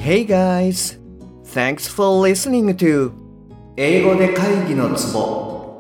Hey guys! Thanks for listening to 英語で会議のツボ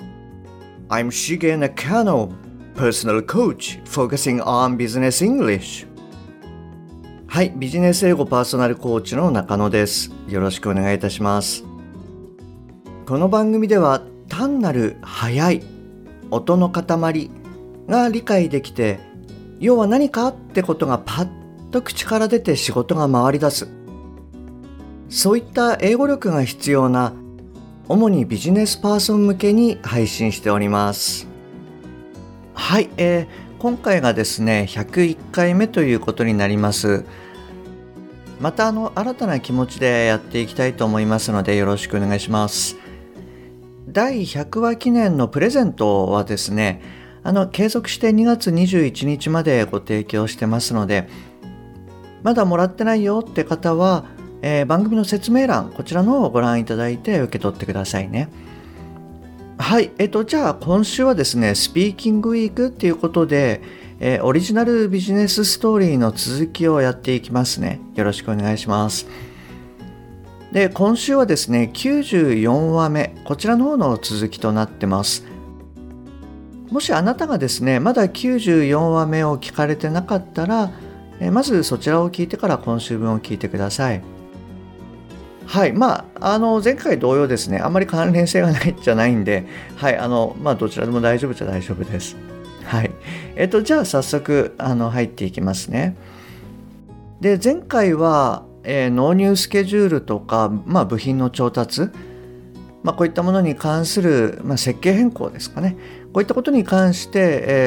I'm Shige Nakano, personal coach focusing on business English. はい、ビジネス英語パーソナルコーチの中野です。よろしくお願いいたします。この番組では単なる速い音の塊が理解できて、要は何かってことがパッと口から出て仕事が回り出す。そういった英語力が必要な主にビジネスパーソン向けに配信しております。はい、今回がですね101回目ということになります。また新たな気持ちでやっていきたいと思いますのでよろしくお願いします。第100話記念のプレゼントはですね継続して2月21日までご提供してますので、まだもらってないよって方は番組の説明欄こちらのをご覧いただいて受け取ってくださいね。はい、じゃあ今週はですねスピーキングウィークっていうことで、オリジナルビジネスストーリーの続きをやっていきますね。よろしくお願いします。で、今週はですね94話目こちらの方の続きとなってます。もしあなたがですねまだ94話目を聞かれてなかったら、まずそちらを聞いてから今週分を聞いてください。はい、前回同様ですねあんまり関連性がないじゃないんで、はい、どちらでも大丈夫じゃ大丈夫です。はい、じゃあ早速入っていきますね。で、前回は、納入スケジュールとか、部品の調達、こういったものに関する、設計変更ですかね。こういったことに関して、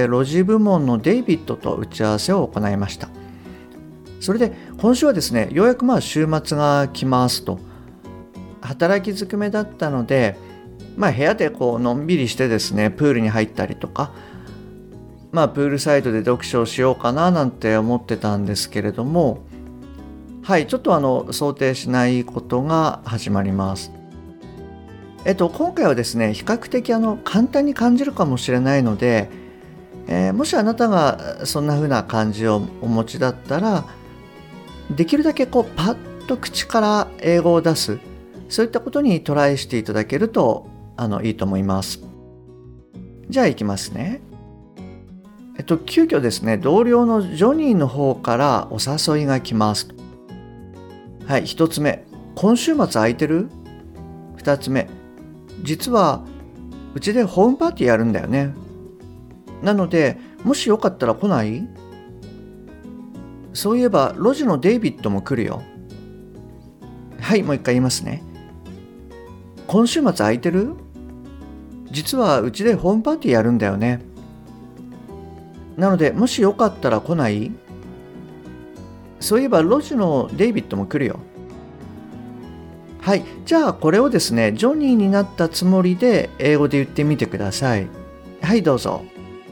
ロジ部門のデイビッドと打ち合わせを行いました。それで今週はですねようやく週末が来ますと。働きづくめだったので、部屋でのんびりしてですねプールに入ったりとか、プールサイドで読書をしようかななんて思ってたんですけれども、はい、ちょっと想定しないことが始まります。今回はですね比較的簡単に感じるかもしれないので、もしあなたがそんな風な感じをお持ちだったら、できるだけパッと口から英語を出す、そういったことにトライしていただけるといいと思います。じゃあいきますね。急遽ですね同僚のジョニーの方からお誘いが来ます。はい、1つ目、今週末空いてる？2つ目、実はうちでホームパーティーやるんだよね。なのでもしよかったら来ない？そういえばロジのデイビッドも来るよ。はい、もう一回言いますね。今週末空いてる？実はうちでホームパーティーやるんだよね。なのでもしよかったら来ない？そういえばロジのデイビッドも来るよ。はい、じゃあこれをですねジョニーになったつもりで英語で言ってみてください。はい、どうぞ。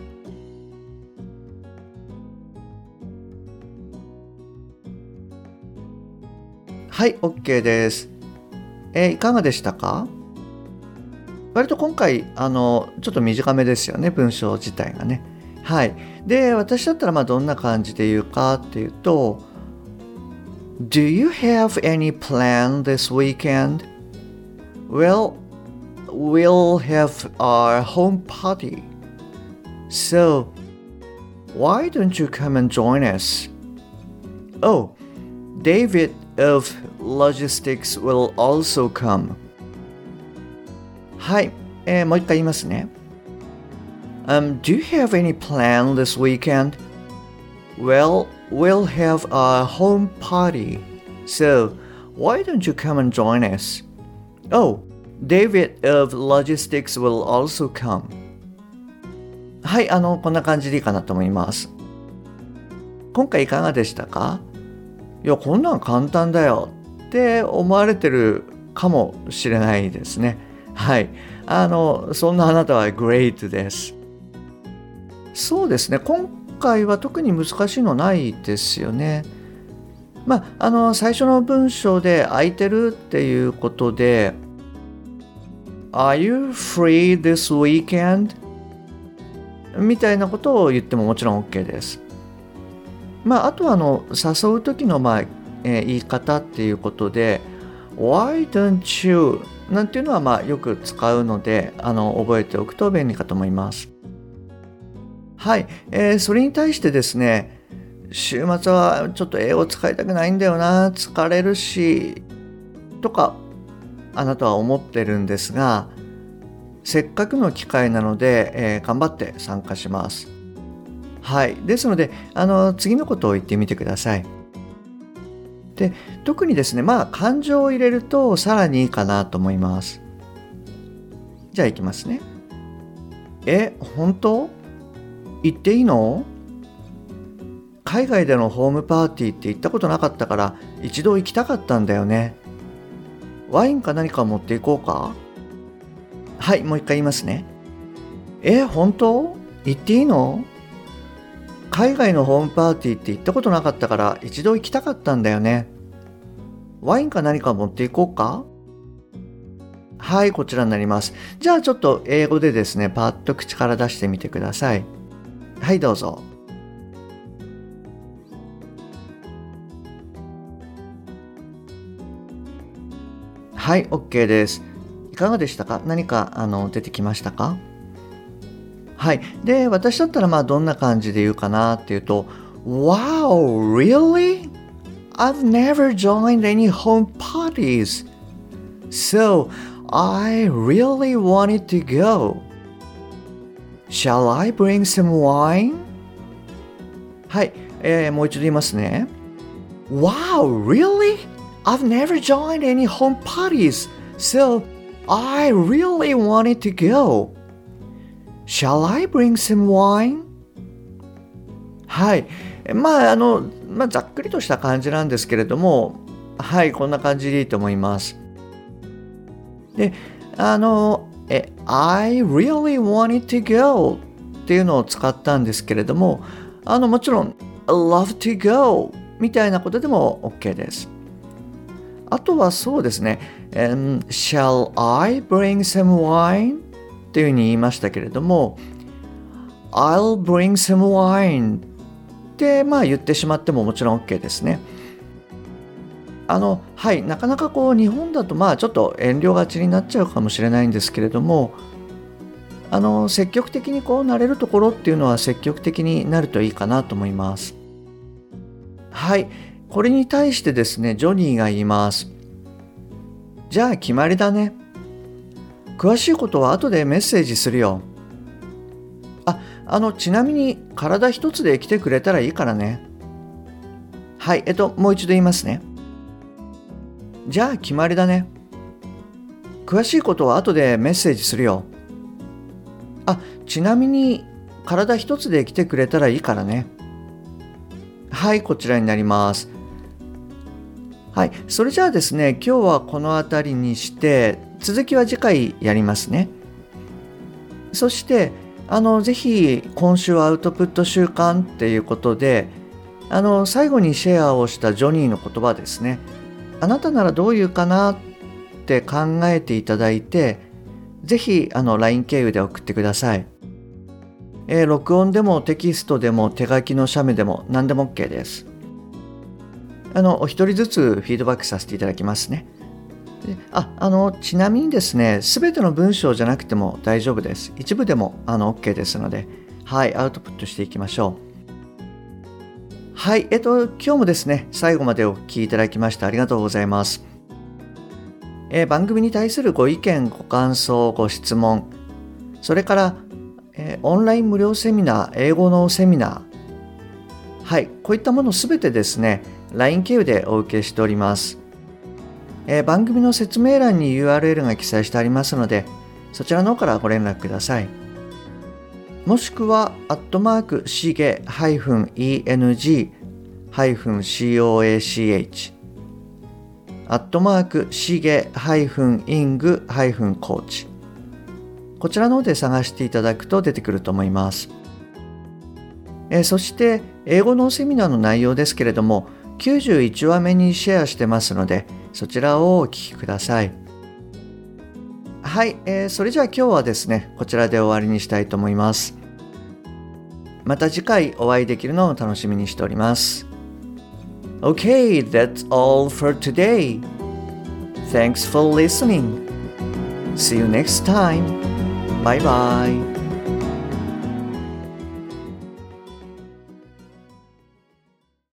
はい、OK です。いかがでしたか？割と今回ちょっと短めですよね、文章自体がね。はい。で、私だったらどんな感じで言うかっていうと、Do you have any plan this weekend? Well, we'll have our home party. So, why don't you come and join us? Oh, David of Logistics will also come. はい、もう一回言いますね。Do you have any plan this weekend? Well, we'll have a home party. So, why don't you come and join us? Oh, David of Logistics will also come. はい、こんな感じでいいかなと思います。今回いかがでしたか？いや、こんなん簡単だよって思われてるかもしれないですね。はい。そんなあなたは great です。そうですね。今回は特に難しいのないですよね。最初の文章で空いてるっていうことで Are you free this weekend? みたいなことを言ってももちろん OK です。あとは誘う時の言い方っていうことで Why don't you なんていうのはよく使うので覚えておくと便利かと思います。はい、それに対してですね、週末はちょっと英語使いたくないんだよな、疲れるしとかあなたは思ってるんですが、せっかくの機会なので、頑張って参加します。はい、ですので次のことを言ってみてください。で、特にですね、感情を入れるとさらにいいかなと思います。じゃあいきますね。本当？行っていいの？海外でのホームパーティーって行ったことなかったから一度行きたかったんだよね。ワインか何か持っていこうか？はい、もう一回言いますね。本当？行っていいの？海外のホームパーティーって行ったことなかったから一度行きたかったんだよね。ワインか何か持っていこうか？はい、こちらになります。じゃあちょっと英語でですね、パッと口から出してみてください。はい、どうぞ。はい、OK です。いかがでしたか？何か出てきましたか？はい。で、私だったらどんな感じで言うかなっていうと、Wow, really? I've never joined any home parties. So, I really wanted to go. Shall I bring some wine? はい。もう一度言いますね。Wow, really? I've never joined any home parties. So, I really wanted to go.Shall I bring some wine? はい。ざっくりとした感じなんですけれども、はい、こんな感じでいいと思います。で、I really wanted to go っていうのを使ったんですけれども、もちろん I love to go みたいなことでも OK です。あとはそうですね、Shall I bring some wine?っていうふうに言いましたけれども I'll bring some wine って言ってしまってももちろん OK ですね。はい、なかなか日本だとちょっと遠慮がちになっちゃうかもしれないんですけれども積極的になれるところっていうのは積極的になるといいかなと思います。はい、これに対してですねジョニーが言います。じゃあ決まりだね。詳しいことは後でメッセージするよ。ちなみに体一つで来てくれたらいいからね。はい、もう一度言いますね。じゃあ決まりだね。詳しいことは後でメッセージするよ。ちなみに体一つで来てくれたらいいからね。はい、こちらになります。はい、それじゃあですね、今日はこの辺りにして続きは次回やりますね。そしてぜひ今週アウトプット週間っていうことで最後にシェアをしたジョニーの言葉ですね。あなたならどう言うかなって考えていただいて、ぜひLINE 経由で送ってください。録音でもテキストでも手書きの写メでも何でも OK です。お一人ずつフィードバックさせていただきますね。ちなみにですね、すべての文章じゃなくても大丈夫です。一部でもOK ですので、はい、アウトプットしていきましょう。はい、今日もですね、最後までお聞きいただきましてありがとうございます。番組に対するご意見、ご感想、ご質問、それから、オンライン無料セミナー、英語のセミナー、はい、こういったものすべてですね、LINE 経由でお受けしております。番組の説明欄に URL が記載してありますので、そちらの方からご連絡ください。もしくは、@shige-eng-coach @shige-ing-coach こちらの方で探していただくと出てくると思います。そして、英語のセミナーの内容ですけれども、91話目にシェアしてますので、そちらをお聞きください。はい、それじゃあ今日はですね、こちらで終わりにしたいと思います。また次回お会いできるのを楽しみにしております。 Okay, that's all for today. Thanks for listening. See you next time. Bye bye.